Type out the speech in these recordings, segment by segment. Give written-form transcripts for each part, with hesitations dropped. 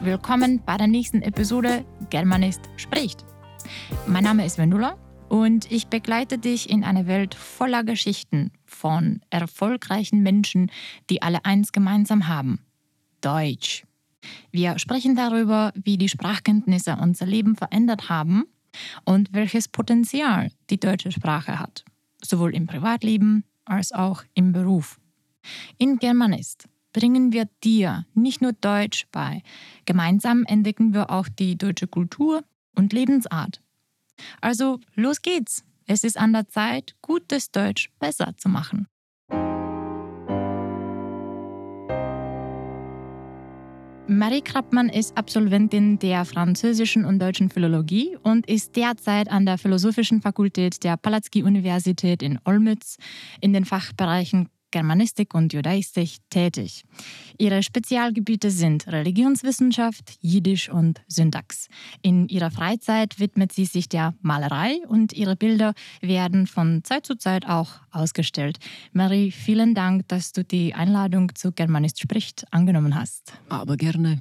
willkommen bei der nächsten Episode Germanist spricht. Mein Name ist Vendula und ich begleite dich in eine Welt voller Geschichten von erfolgreichen Menschen, die alle eins gemeinsam haben: Deutsch. Wir sprechen darüber, wie die Sprachkenntnisse unser Leben verändert haben und welches Potenzial die deutsche Sprache hat, sowohl im Privatleben als auch im Beruf. In Germanist bringen wir dir nicht nur Deutsch bei, gemeinsam entdecken wir auch die deutsche Kultur und Lebensart. Also los geht's! Es ist an der Zeit, gutes Deutsch besser zu machen. Marie Krappmann ist Absolventin der französischen und deutschen Philologie und ist derzeit an der Philosophischen Fakultät der Palacký-Universität in Olmütz in den Fachbereichen Germanistik und Judaistik tätig. Ihre Spezialgebiete sind Religionswissenschaft, Jiddisch und Syntax. In ihrer Freizeit widmet sie sich der Malerei und ihre Bilder werden von Zeit zu Zeit auch ausgestellt. Marie, vielen Dank, dass du die Einladung zu Germanist spricht angenommen hast. Aber gerne.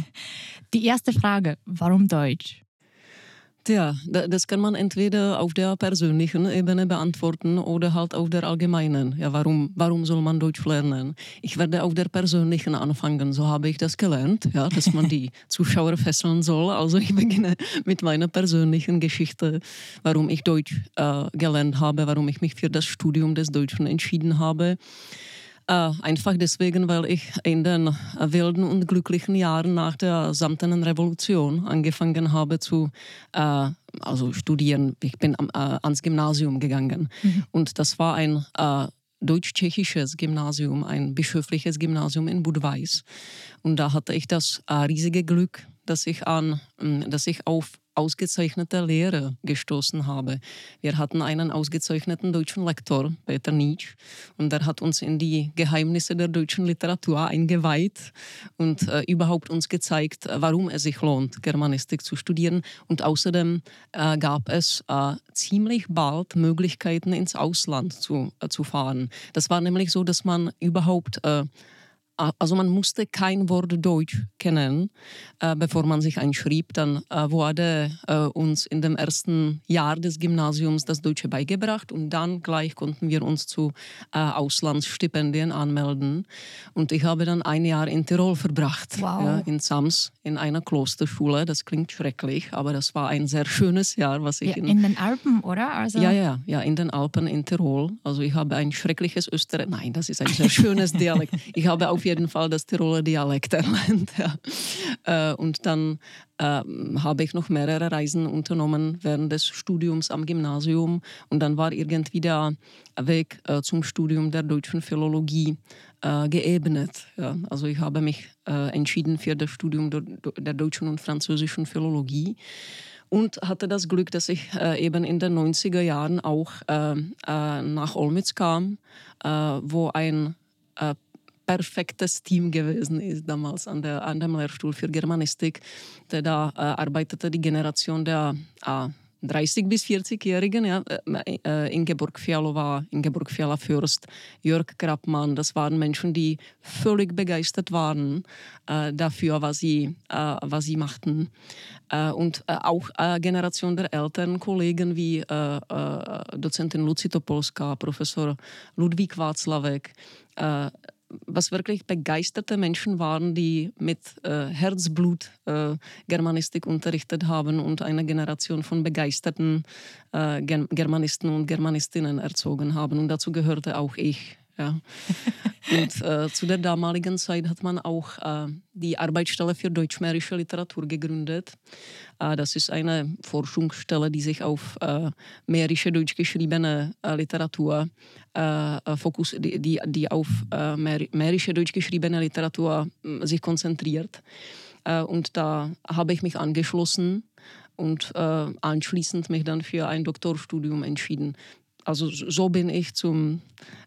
Die erste Frage: Warum Deutsch? Tja, das kann man entweder auf der persönlichen Ebene beantworten oder halt auf der allgemeinen. Ja, warum soll man Deutsch lernen? Ich werde auf der persönlichen anfangen, so habe ich das gelernt, ja, dass man die Zuschauer fesseln soll. Also ich beginne mit meiner persönlichen Geschichte, warum ich Deutsch gelernt habe, warum ich mich für das Studium des Deutschen entschieden habe. Einfach deswegen, weil ich in den wilden und glücklichen Jahren nach der Samtenen Revolution angefangen habe zu studieren. Ich bin ans Gymnasium gegangen. Und das war ein deutsch-tschechisches Gymnasium, ein bischöfliches Gymnasium in Budweis. Und da hatte ich das riesige Glück, dass ich auf ausgezeichnete Lehrer gestoßen habe. Wir hatten einen ausgezeichneten deutschen Lektor, Peter Nitsch, und der hat uns in die Geheimnisse der deutschen Literatur eingeweiht und überhaupt uns gezeigt, warum es sich lohnt, Germanistik zu studieren. Und außerdem gab es ziemlich bald Möglichkeiten, ins Ausland zu fahren. Das war nämlich so, dass man überhaupt man musste kein Wort Deutsch kennen, bevor man sich einschrieb. Dann wurde uns in dem ersten Jahr des Gymnasiums das Deutsche beigebracht und dann gleich konnten wir uns zu Auslandsstipendien anmelden. Und ich habe dann ein Jahr in Tirol verbracht, Wow. Ja, in Sams, in einer Klosterschule. Das klingt schrecklich, aber das war ein sehr schönes Jahr, was ich in den Alpen, oder? Also Ja, in den Alpen in Tirol. Also ich habe ein schreckliches Nein, das ist ein sehr schönes Dialekt. Ich habe auf jeden Fall das Tiroler Dialekt erlernt. Ja. Und dann habe ich noch mehrere Reisen unternommen während des Studiums am Gymnasium. Und dann war irgendwie der Weg zum Studium der deutschen Philologie geebnet. Ja. Also ich habe mich entschieden für das Studium der deutschen und französischen Philologie. Und hatte das Glück, dass ich eben in den 90er Jahren auch nach Olmütz kam, wo ein perfektes Team gewesen ist damals an dem Lehrstuhl für Germanistik. Da arbeitete die Generation der 30- bis 40-Jährigen, ja, Ingeborg Fiala-Fürst, Jörg Krappmann, das waren Menschen, die völlig begeistert waren dafür, was sie machten. Und auch Generation der älteren Kollegen wie Dozentin Lucie Topolská, Professor Ludvík Václavek, was wirklich begeisterte Menschen waren, die mit Herzblut Germanistik unterrichtet haben und eine Generation von begeisterten Germanisten und Germanistinnen erzogen haben. Und dazu gehörte auch ich. Ja. Und zu der damaligen Zeit hat man auch die Arbeitsstelle für deutschmährische Literatur gegründet. Das ist eine Forschungsstelle, die sich auf mährische deutsch geschriebene Literatur die auf mährische deutsch geschriebene Literatur sich konzentriert. Und da habe ich mich angeschlossen und anschließend mich dann für ein Doktorstudium entschieden. Also so bin ich zur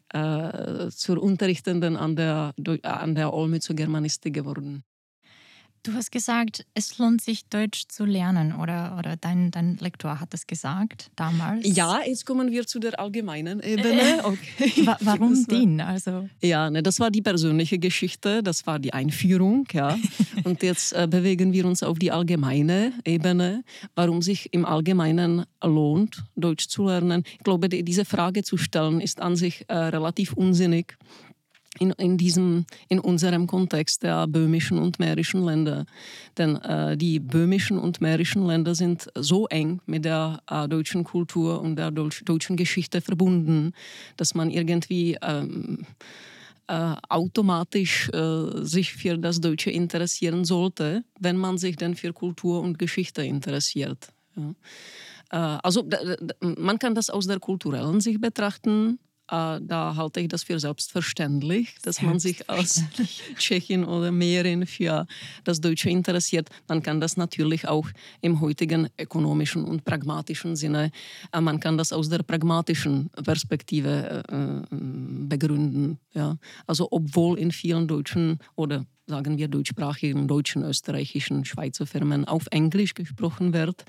Unterrichtenden an der Olmützer Germanistik geworden. Du hast gesagt, es lohnt sich, Deutsch zu lernen, oder dein Lektor hat das gesagt damals. Ja, jetzt kommen wir zu der allgemeinen Ebene. Okay. Warum den? Also Ja, ne, das war die persönliche Geschichte, das war die Einführung, ja. Und jetzt bewegen wir uns auf die allgemeine Ebene, warum sich im Allgemeinen lohnt, Deutsch zu lernen. Ich glaube, diese Frage zu stellen, ist an sich relativ unsinnig. In unserem Kontext der böhmischen und mährischen Länder. Denn die böhmischen und mährischen Länder sind so eng mit der deutschen Kultur und der deutschen Geschichte verbunden, dass man irgendwie automatisch sich für das Deutsche interessieren sollte, wenn man sich denn für Kultur und Geschichte interessiert. Ja. Also man kann das aus der kulturellen Sicht betrachten. Da halte ich das für selbstverständlich, dass man sich als Tschechin oder Mähren für das Deutsche interessiert. Man kann das natürlich auch im heutigen ökonomischen und pragmatischen Sinne, man kann das aus der pragmatischen Perspektive begründen. Ja. Also obwohl in vielen deutschen oder sagen wir deutschsprachigen, deutschen, österreichischen, Schweizer Firmen auf Englisch gesprochen wird,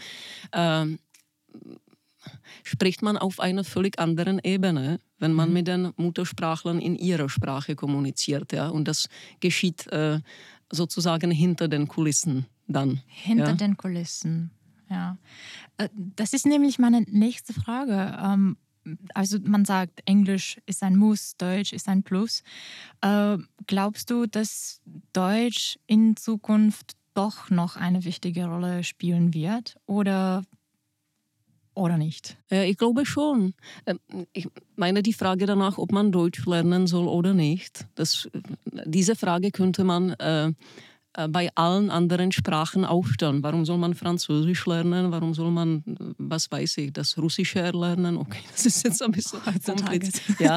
spricht man auf einer völlig anderen Ebene, wenn man mit den Muttersprachlern in ihrer Sprache kommuniziert. Ja? Und das geschieht sozusagen hinter den Kulissen dann. Hinter den Kulissen, ja. Das ist nämlich meine nächste Frage. Also man sagt, Englisch ist ein Muss, Deutsch ist ein Plus. Glaubst du, dass Deutsch in Zukunft doch noch eine wichtige Rolle spielen wird? Oder nicht? Ich glaube schon. Ich meine die Frage danach, ob man Deutsch lernen soll oder nicht. Diese Frage könnte man bei allen anderen Sprachen auch stellen. Warum soll man Französisch lernen? Warum soll man, was weiß ich, das Russische lernen? Okay, das ist jetzt ein bisschen kompliziert. Ja.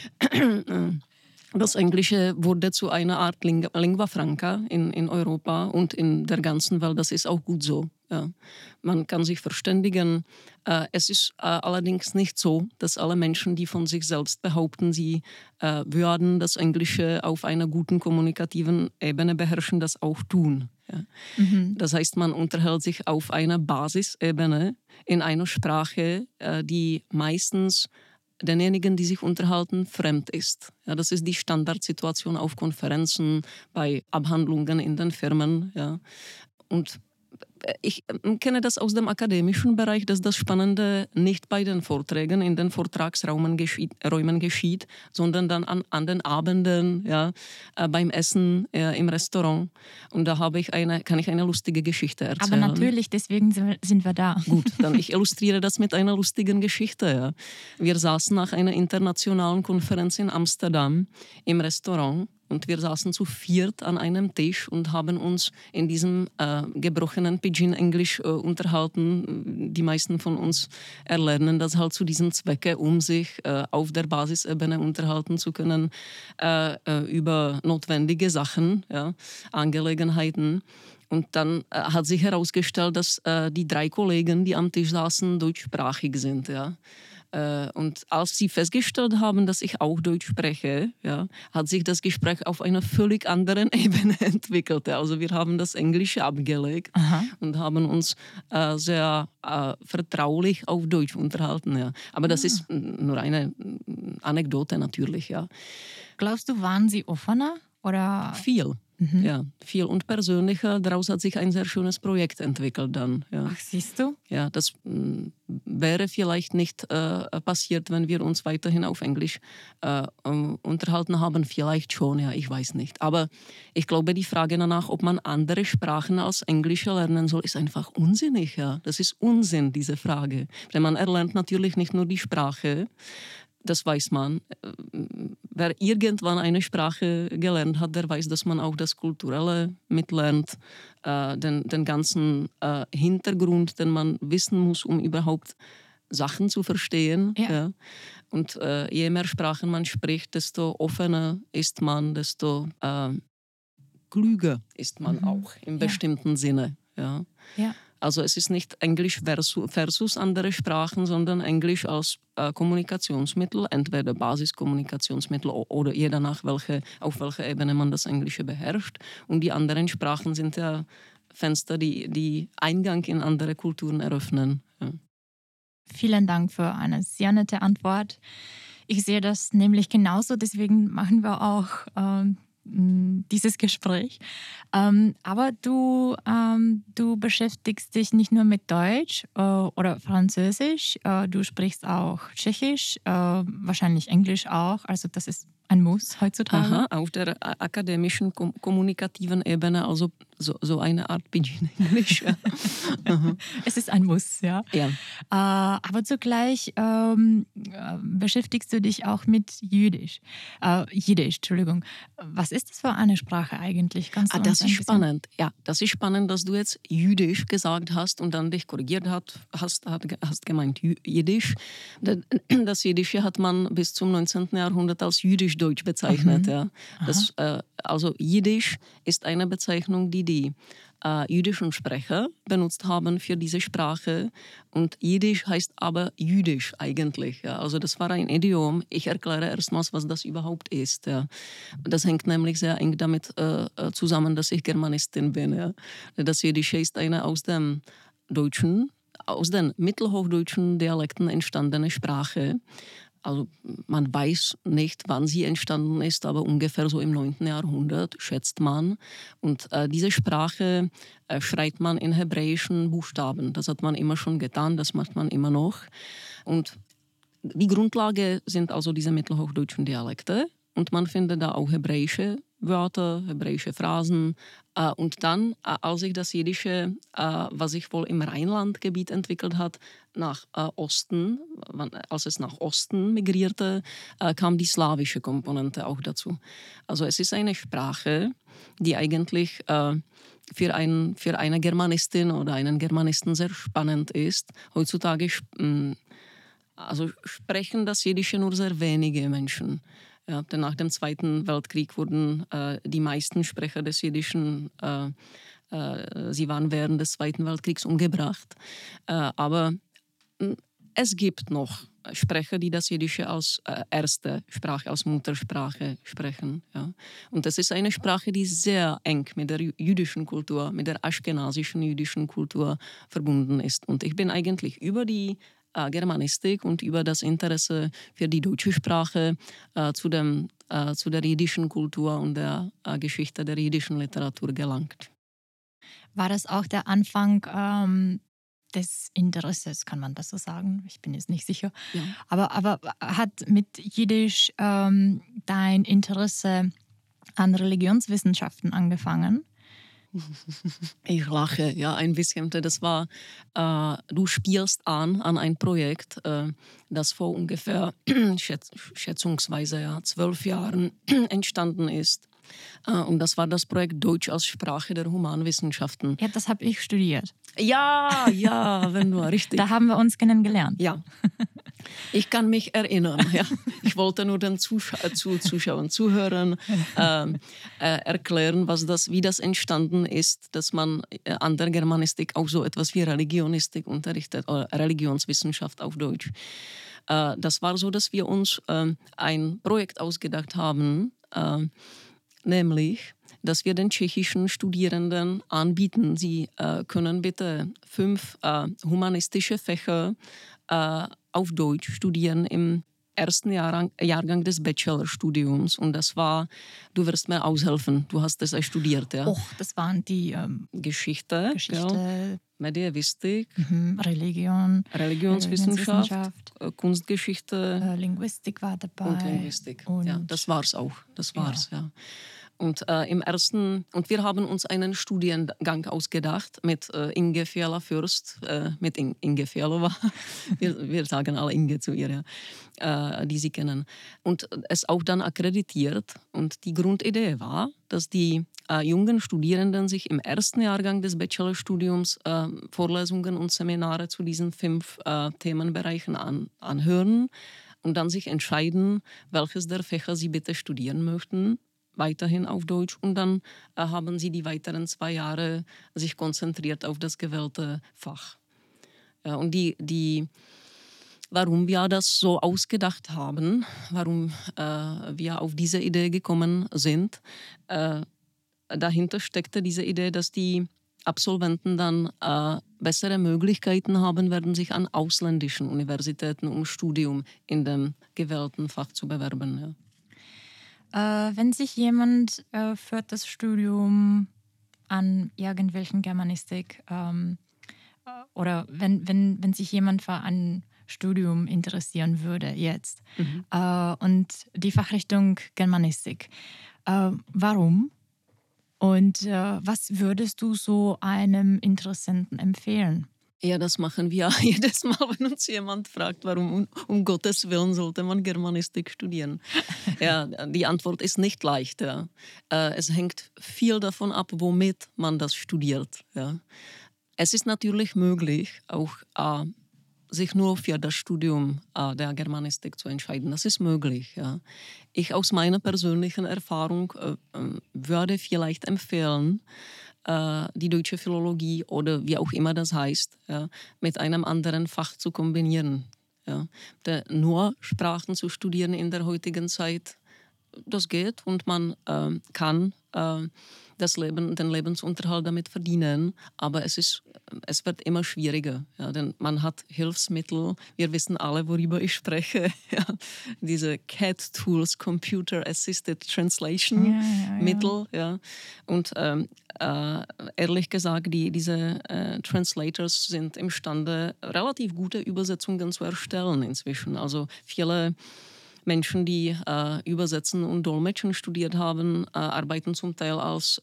Das Englische wurde zu einer Art Lingua Franca in Europa und in der ganzen Welt. Das ist auch gut so. Ja. Man kann sich verständigen. Es ist allerdings nicht so, dass alle Menschen, die von sich selbst behaupten, sie würden das Englische auf einer guten kommunikativen Ebene beherrschen, das auch tun. Ja. Das heißt, man unterhält sich auf einer Basisebene in einer Sprache, die meistens denjenigen, die sich unterhalten, fremd ist. Ja, das ist die Standardsituation auf Konferenzen, bei Abhandlungen in den Firmen. Ja. Und ich kenne das aus dem akademischen Bereich, dass das Spannende nicht bei den Vorträgen in den Vortragsräumen geschieht, sondern dann an den Abenden, ja, beim Essen im Restaurant. Und da kann ich eine lustige Geschichte erzählen. Aber natürlich, deswegen sind wir da. Gut, dann ich illustriere das mit einer lustigen Geschichte. Ja. Wir saßen nach einer internationalen Konferenz in Amsterdam im Restaurant. Und wir saßen zu viert an einem Tisch und haben uns in diesem gebrochenen Pidgin-Englisch unterhalten. Die meisten von uns erlernen das halt zu diesem Zwecke, um sich auf der Basisebene unterhalten zu können über notwendige Sachen, ja, Angelegenheiten. Und dann hat sich herausgestellt, dass die 3 Kollegen, die am Tisch saßen, deutschsprachig sind. Ja. Und als sie festgestellt haben, dass ich auch Deutsch spreche, ja, hat sich das Gespräch auf einer völlig anderen Ebene entwickelt. Ja. Also wir haben das Englische abgelegt und haben uns sehr vertraulich auf Deutsch unterhalten. Ja. Aber das ist nur eine Anekdote natürlich. Ja. Glaubst du, waren sie offener? Oder? Viel. Ja, viel und persönlicher. Daraus hat sich ein sehr schönes Projekt entwickelt dann. Ja. Ach, siehst du? Ja, das wäre vielleicht nicht passiert, wenn wir uns weiterhin auf Englisch unterhalten haben. Vielleicht schon, ja, ich weiß nicht. Aber ich glaube, die Frage danach, ob man andere Sprachen als Englische lernen soll, ist einfach unsinnig. Ja. Das ist Unsinn, diese Frage. Denn man erlernt natürlich nicht nur die Sprache, das weiß man. Wer irgendwann eine Sprache gelernt hat, der weiß, dass man auch das Kulturelle mitlernt, den ganzen Hintergrund, den man wissen muss, um überhaupt Sachen zu verstehen. Ja. Ja. Und je mehr Sprachen man spricht, desto offener ist man, desto klüger ist man auch im bestimmten Sinne. Ja. Ja. Also es ist nicht Englisch versus andere Sprachen, sondern Englisch als Kommunikationsmittel, entweder Basiskommunikationsmittel oder je danach, auf welcher Ebene man das Englische beherrscht. Und die anderen Sprachen sind ja Fenster, die Eingang in andere Kulturen eröffnen. Ja. Vielen Dank für eine sehr nette Antwort. Ich sehe das nämlich genauso, deswegen machen wir auch dieses Gespräch. Aber du beschäftigst dich nicht nur mit Deutsch oder Französisch, du sprichst auch Tschechisch, wahrscheinlich Englisch auch, also das ist ein Muss heutzutage. Aha, auf der akademischen, kommunikativen Ebene, also so eine Art Pidgin Englisch. Es ist ein Muss, ja. Ja. Aber zugleich beschäftigst du dich auch mit Jiddisch. Entschuldigung. Was ist das für eine Sprache eigentlich? Kannst du Das ist spannend. Ja, das ist spannend, dass du jetzt Jüdisch gesagt hast und dann dich korrigiert hast gemeint Jiddisch. Das Jiddische hat man bis zum 19. Jahrhundert als Jüdisch-Deutsch bezeichnet. Ja. Also Jiddisch ist eine Bezeichnung, die jüdischen Sprecher benutzt haben für diese Sprache. Und Jiddisch heißt aber Jüdisch eigentlich. Ja. Also das war ein Idiom. Ich erkläre erstmals, was das überhaupt ist. Ja. Das hängt nämlich sehr eng damit zusammen, dass ich Germanistin bin. Ja. Das Jiddische ist eine aus den mittelhochdeutschen Dialekten entstandene Sprache. Also man weiß nicht, wann sie entstanden ist, aber ungefähr so im 9. Jahrhundert, schätzt man. Und diese Sprache schreibt man in hebräischen Buchstaben. Das hat man immer schon getan, das macht man immer noch. Und die Grundlage sind also diese mittelhochdeutschen Dialekte. Und man findet da auch hebräische Wörter, hebräische Phrasen. Und dann, als sich das Jiddische, was sich wohl im Rheinlandgebiet entwickelt hat, nach Osten, als es nach Osten migrierte, kam die slawische Komponente auch dazu. Also es ist eine Sprache, die eigentlich für eine Germanistin oder einen Germanisten sehr spannend ist. Heutzutage sprechen das Jiddische nur sehr wenige Menschen. Ja, denn nach dem Zweiten Weltkrieg wurden die meisten Sprecher des Jiddischen, sie waren während des Zweiten Weltkriegs umgebracht. Aber es gibt noch Sprecher, die das Jiddische als erste Sprache, als Muttersprache sprechen. Ja. Und das ist eine Sprache, die sehr eng mit der jüdischen Kultur, mit der aschkenasischen jüdischen Kultur verbunden ist. Und ich bin eigentlich über die Germanistik und über das Interesse für die deutsche Sprache zu der jiddischen Kultur und der Geschichte der jiddischen Literatur gelangt. War das auch der Anfang des Interesses, kann man das so sagen? Ich bin jetzt nicht sicher. Ja. Aber hat mit Jiddisch dein Interesse an Religionswissenschaften angefangen? Ich lache, ja, ein bisschen. Das war, du spielst an ein Projekt, das vor ungefähr, schätzungsweise 12 Jahren entstanden ist. Und das war das Projekt Deutsch als Sprache der Humanwissenschaften. Ja, das habe ich studiert. Ja, wenn du richtig. Da haben wir uns kennengelernt. Ja, ich kann mich erinnern. Ja. Ich wollte nur den Zuschauern, Zuhörern erklären, wie das entstanden ist, dass man an der Germanistik auch so etwas wie Religionistik unterrichtet, oder Religionswissenschaft auf Deutsch. Das war so, dass wir uns ein Projekt ausgedacht haben, nämlich, dass wir den tschechischen Studierenden anbieten, sie können bitte 5 humanistische Fächer auf Deutsch studieren im ersten Jahrgang des Bachelorstudiums. Und das war, du wirst mir aushelfen, du hast es studiert. Ja. Das waren die Geschichte. Ja. Medievistik, Religionswissenschaft, Kunstgeschichte, Linguistik war dabei. Und Linguistik. Ja, das war's auch. Das war's, ja. Und wir haben uns einen Studiengang ausgedacht mit Inge Fiala-Fürst, mit Inge Fialova. Wir sagen alle Inge zu ihr, ja, die sie kennen. Und es auch dann akkreditiert. Und die Grundidee war, dass die jungen Studierenden sich im ersten Jahrgang des Bachelorstudiums Vorlesungen und Seminare zu diesen 5 Themenbereichen anhören und dann sich entscheiden, welches der Fächer sie bitte studieren möchten. weiterhin auf Deutsch und dann haben sie die weiteren 2 Jahre sich konzentriert auf das gewählte Fach. Ja, und warum wir das so ausgedacht haben, warum wir auf diese Idee gekommen sind, dahinter steckte diese Idee, dass die Absolventen dann bessere Möglichkeiten haben werden, sich an ausländischen Universitäten um Studium in dem gewählten Fach zu bewerben. Ja. Wenn sich jemand für das Studium an irgendwelchen Germanistik oder wenn sich jemand für ein Studium interessieren würde jetzt und die Fachrichtung Germanistik, warum? Und was würdest du so einem Interessenten empfehlen? Ja, das machen wir jedes Mal, wenn uns jemand fragt, warum um Gottes Willen sollte man Germanistik studieren. Ja, die Antwort ist nicht leicht. Ja. Es hängt viel davon ab, womit man das studiert. Ja. Es ist natürlich möglich, auch sich nur für das Studium der Germanistik zu entscheiden. Das ist möglich. Ja. Ich aus meiner persönlichen Erfahrung würde vielleicht empfehlen, die deutsche Philologie oder wie auch immer das heißt, ja, mit einem anderen Fach zu kombinieren. Ja. Nur Sprachen zu studieren in der heutigen Zeit, das geht und man kann den Lebensunterhalt damit verdienen, aber es wird immer schwieriger, ja, denn man hat Hilfsmittel, wir wissen alle, worüber ich spreche, ja, diese CAT-Tools, Computer Assisted Translation Mittel, ja, und ehrlich gesagt, diese Translators sind imstande, relativ gute Übersetzungen zu erstellen inzwischen, also viele Menschen, die Übersetzen und Dolmetschen studiert haben, arbeiten zum Teil als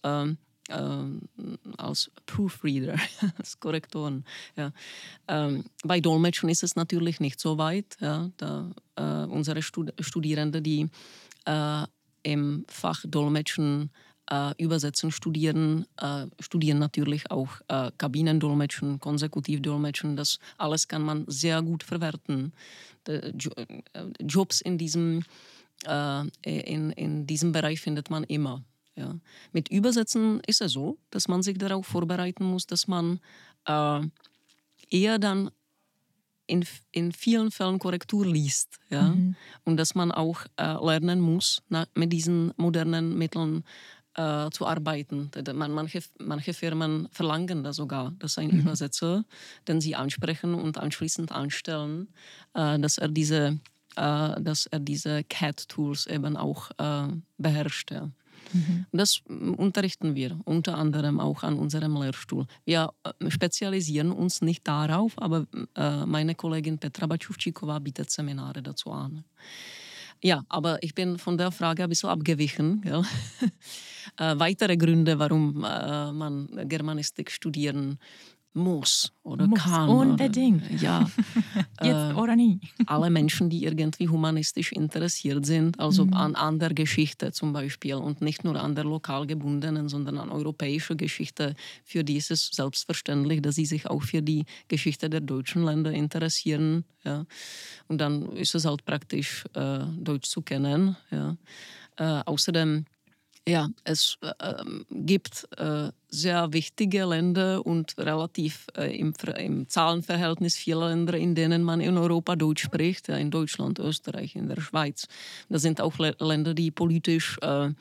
Proofreader, als Korrektoren. Ja. Bei Dolmetschen ist es natürlich nicht so weit. Ja, unsere Studierende, die im Fach Dolmetschen Übersetzen studieren natürlich auch Kabinendolmetschen, Konsekutivdolmetschen. Das alles kann man sehr gut verwerten. Jobs in diesem Bereich findet man immer. Ja. Mit Übersetzen ist es so, dass man sich darauf vorbereiten muss, dass man eher dann in vielen Fällen Korrektur liest. Ja? Und dass man auch lernen muss, mit diesen modernen Mitteln zu arbeiten. Manche Firmen verlangen das sogar, dass ein Übersetzer, den sie ansprechen und anschließend anstellen, dass er diese CAT-Tools eben auch beherrscht. Ja. Das unterrichten wir unter anderem auch an unserem Lehrstuhl. Wir spezialisieren uns nicht darauf, aber meine Kollegin Petra Bačuvčíková bietet Seminare dazu an. Ja, aber ich bin von der Frage ein bisschen abgewichen. Ja. Weitere Gründe, warum man Germanistik studieren muss oder kann. Unbedingt. Oder, ja. Jetzt oder nie. Alle Menschen, die irgendwie humanistisch interessiert sind, also an der Geschichte zum Beispiel und nicht nur an der lokal gebundenen, sondern an europäischer Geschichte, für die ist es selbstverständlich, dass sie sich auch für die Geschichte der deutschen Länder interessieren. Ja. Und dann ist es halt praktisch, Deutsch zu kennen. Ja. Außerdem ja, es gibt sehr wichtige Länder und relativ im Zahlenverhältnis viele Länder, in denen man in Europa Deutsch spricht, ja, in Deutschland, Österreich, in der Schweiz. Das sind auch Länder, die politisch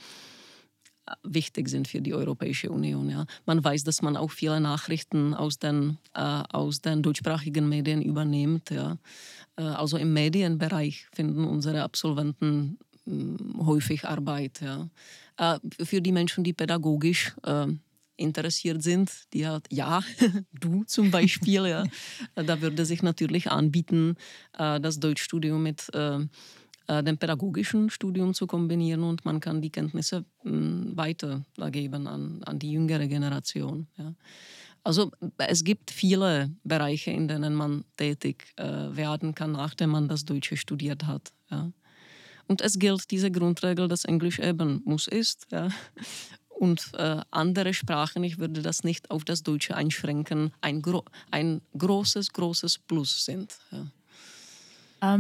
wichtig sind für die Europäische Union. Ja. Man weiß, dass man auch viele Nachrichten aus den deutschsprachigen Medien übernimmt. Ja. Also im Medienbereich finden unsere Absolventen häufig Arbeit. Ja. Für die Menschen, die pädagogisch interessiert sind, die halt, ja, du zum Beispiel, ja, da würde sich natürlich anbieten, das Deutschstudium mit dem pädagogischen Studium zu kombinieren und man kann die Kenntnisse weitergeben an die jüngere Generation. Ja. Also es gibt viele Bereiche, in denen man tätig werden kann, nachdem man das Deutsche studiert hat. Ja. Und es gilt diese Grundregel, dass Englisch eben muss ist. Ja. Und andere Sprachen, ich würde das nicht auf das Deutsche einschränken, ein großes Plus sind. Ja.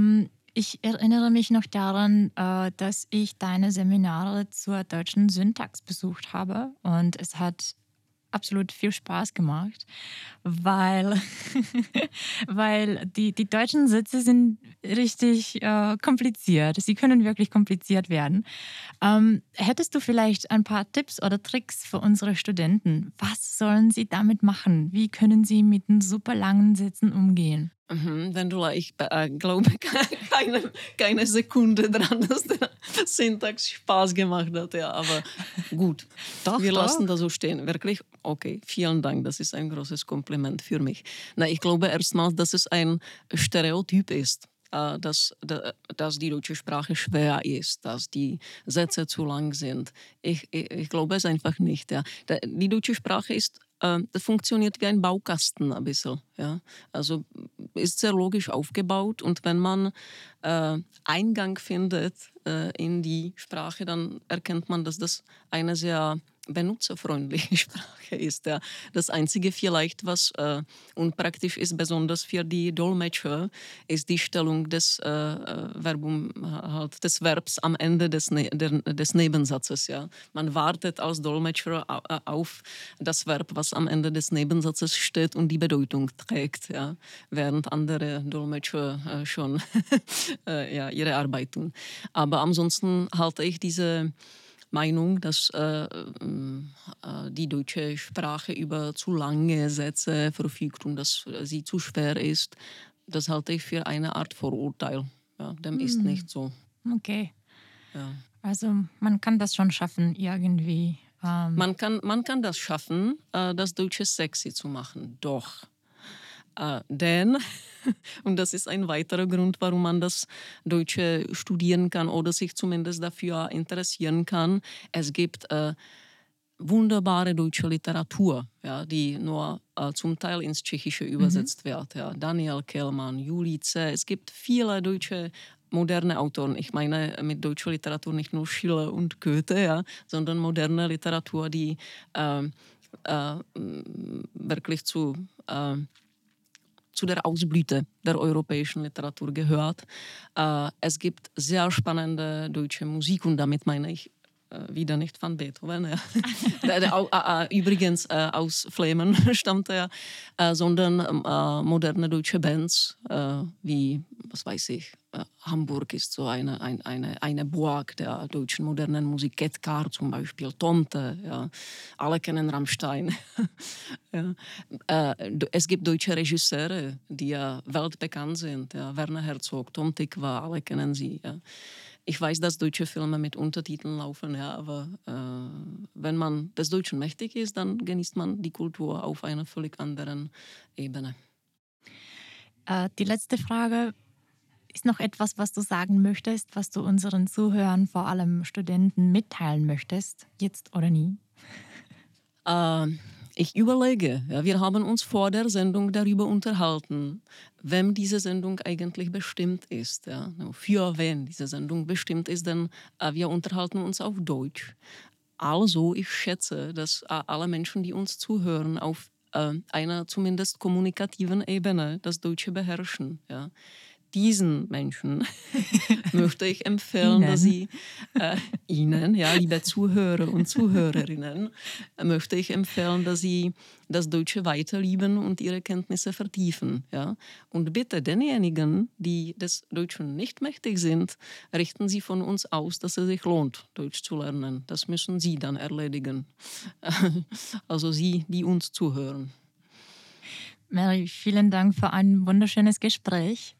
Ich erinnere mich noch daran, dass ich deine Seminare zur deutschen Syntax besucht habe und es hat absolut viel Spaß gemacht, weil, weil die deutschen Sätze sind richtig kompliziert. Sie können wirklich kompliziert werden. Hättest du vielleicht ein paar Tipps oder Tricks für unsere Studenten? Was sollen sie damit machen? Wie können sie mit den super langen Sätzen umgehen? Wendula, ich glaube keine Sekunde dran, dass der Syntax Spaß gemacht hat. Ja, aber gut, wir lassen das so stehen. Wirklich, okay, vielen Dank, das ist ein großes Kompliment für mich. Na, ich glaube erstmal, dass es ein Stereotyp ist. Dass die deutsche Sprache schwer ist, dass die Sätze zu lang sind. Ich glaube es einfach nicht. Ja. Die deutsche Sprache das funktioniert wie ein Baukasten ein bisschen. Ja. Also ist sehr logisch aufgebaut und wenn man Eingang findet in die Sprache, dann erkennt man, dass das eine sehr benutzerfreundliche Sprache ist. Ja. Das Einzige vielleicht, was unpraktisch ist, besonders für die Dolmetscher, ist die Stellung des des Verbs am Ende des Nebensatzes. Ja. Man wartet als Dolmetscher auf das Verb, was am Ende des Nebensatzes steht und die Bedeutung trägt, ja, während andere Dolmetscher schon ihre Arbeit tun. Aber ansonsten halte ich diese Meinung, dass die deutsche Sprache über zu lange Sätze verfügt und dass sie zu schwer ist, das halte ich für eine Art Vorurteil. Ja, dem ist nicht so. Okay. Ja. Also man kann das schon schaffen, irgendwie. Man kann das schaffen, das Deutsche sexy zu machen. Doch. Denn, und das ist ein weiterer Grund, warum man das Deutsche studieren kann oder sich zumindest dafür interessieren kann, es gibt wunderbare deutsche Literatur, ja, die nur zum Teil ins Tschechische übersetzt wird. Ja. Daniel Kehlmann, Julice, es gibt viele deutsche moderne Autoren. Ich meine mit deutscher Literatur nicht nur Schiller und Goethe, ja, sondern moderne Literatur, die wirklich zu der Ausblüte der europäischen Literatur gehört. Es gibt sehr spannende deutsche Musik und damit meine ich wieder nicht von Beethoven, ja. Übrigens aus Flemen stammt er, sondern moderne deutsche Bands wie, was weiß ich, Hamburg ist so eine Burg der deutschen modernen Musik, Ketkar zum Beispiel, Tomte, ja. Alle kennen Rammstein. Ja. Es gibt deutsche Regisseure, die ja weltbekannt sind, ja. Werner Herzog, Tom Tykwer, alle kennen sie. Ja. Ich weiß, dass deutsche Filme mit Untertiteln laufen, ja, aber wenn man des Deutschen mächtig ist, dann genießt man die Kultur auf einer völlig anderen Ebene. Die letzte Frage. Ist noch etwas, was du sagen möchtest, was du unseren Zuhörern, vor allem Studenten, mitteilen möchtest, jetzt oder nie? Ich überlege, ja, wir haben uns vor der Sendung darüber unterhalten, wem diese Sendung eigentlich bestimmt ist. Ja, für wen diese Sendung bestimmt ist, denn wir unterhalten uns auf Deutsch. Also ich schätze, dass alle Menschen, die uns zuhören, auf einer zumindest kommunikativen Ebene das Deutsche beherrschen. Ja. Diesen Menschen möchte ich empfehlen, dass sie Ihnen, ja, liebe Zuhörer und Zuhörerinnen, möchte ich empfehlen, dass sie das Deutsche weiterlieben und ihre Kenntnisse vertiefen. Ja? Und bitte denjenigen, die des Deutschen nicht mächtig sind, richten Sie von uns aus, dass es sich lohnt, Deutsch zu lernen. Das müssen Sie dann erledigen. Also Sie, die uns zuhören. Mary, vielen Dank für ein wunderschönes Gespräch.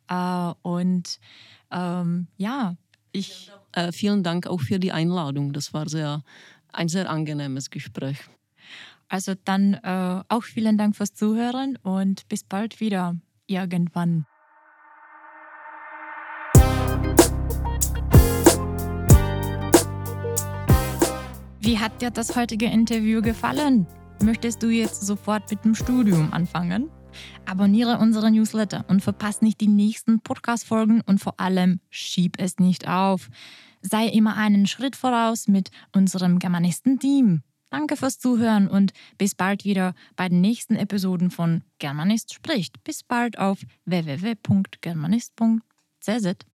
Vielen Dank auch für die Einladung. Das war ein sehr angenehmes Gespräch. Also dann auch vielen Dank fürs Zuhören und bis bald wieder irgendwann. Wie hat dir das heutige Interview gefallen? Möchtest du jetzt sofort mit dem Studium anfangen? Abonniere unseren Newsletter und verpasse nicht die nächsten Podcast-Folgen und vor allem schieb es nicht auf. Sei immer einen Schritt voraus mit unserem Germanisten-Team. Danke fürs Zuhören und bis bald wieder bei den nächsten Episoden von Germanist spricht. Bis bald auf www.germanist.cz.